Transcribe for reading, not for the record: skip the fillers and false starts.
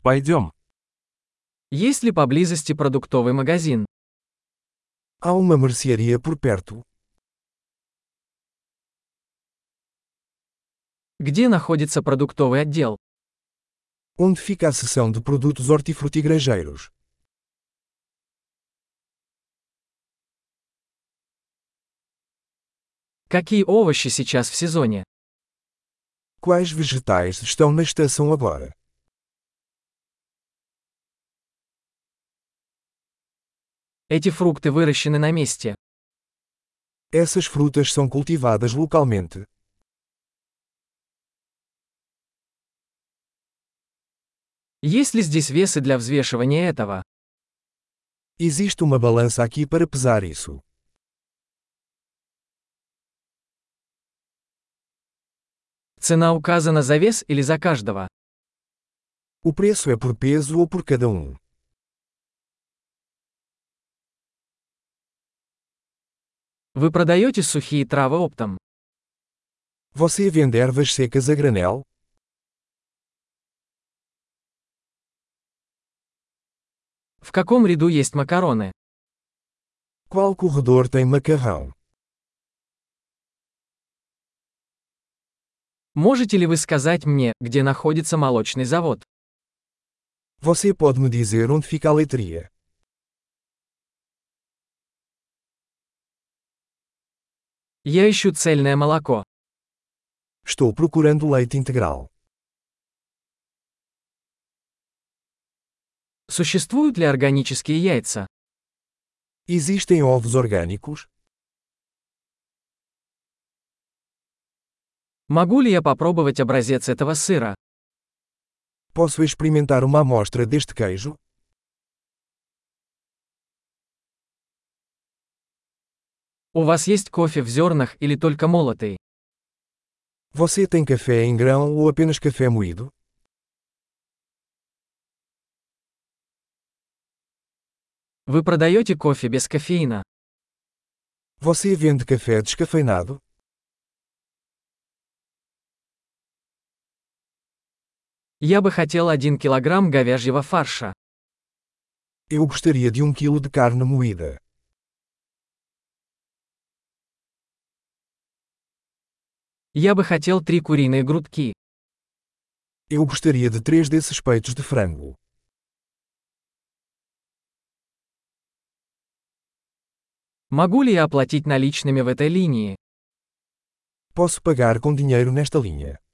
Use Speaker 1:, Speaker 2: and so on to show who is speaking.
Speaker 1: Пойдем.
Speaker 2: Есть ли поблизости продуктовый магазин?
Speaker 3: Há uma mercearia por perto?
Speaker 2: Где находится продуктовый отдел?
Speaker 3: Onde fica a seção de produtos hortifrutigranjeiros?
Speaker 2: Какие овощи сейчас в сезоне?
Speaker 3: Quais vegetais estão na estação agora?
Speaker 2: Эти фрукты выращены на месте.
Speaker 3: Essas frutas são cultivadas localmente.
Speaker 2: Есть ли здесь весы для взвешивания этого?
Speaker 3: Existe uma balança aqui para pesar isso.
Speaker 2: Цена указана за вес или за каждого?
Speaker 3: O preço é por peso ou por cada um?
Speaker 2: Вы продаете сухие травы оптом?
Speaker 3: Você vende ervas secas a granel?
Speaker 2: В каком ряду есть макароны?
Speaker 3: Qual corredor tem macarrão?
Speaker 2: Можете ли вы сказать мне, где находится молочный завод?
Speaker 3: Você pode me dizer onde fica a leitria?
Speaker 2: Я ищу цельное молоко.
Speaker 3: Estou procurando leite integral.
Speaker 2: Существуют ли органические яйца?
Speaker 3: Existem ovos orgânicos?
Speaker 2: Могу ли я попробовать образец этого сыра?
Speaker 3: Posso experimentar uma amostra deste queijo?
Speaker 2: У вас есть кофе в зернах или только молотый?
Speaker 3: Você tem café em grão ou apenas café moído?
Speaker 2: Вы продаете кофе без кофеина?
Speaker 3: Você vende café descafeinado?
Speaker 2: Я бы хотел 1 килограмм говяжьего фарша.
Speaker 3: Eu gostaria de 1 quilo de carne moída.
Speaker 2: Я бы хотел 3 куриные грудки.
Speaker 3: Eu gostaria de 3 desses peitos de frango.
Speaker 2: Могу ли я оплатить наличными в этой линии?
Speaker 3: Posso pagar com dinheiro nesta linha.